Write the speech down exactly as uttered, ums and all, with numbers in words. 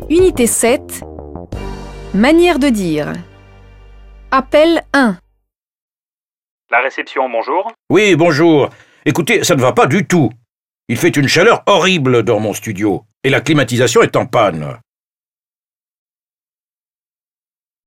Unité sept. Manière de dire. Appel un. La réception, bonjour. Oui, bonjour. Écoutez, ça ne va pas du tout. Il fait une chaleur horrible dans mon studio, et la climatisation est en panne.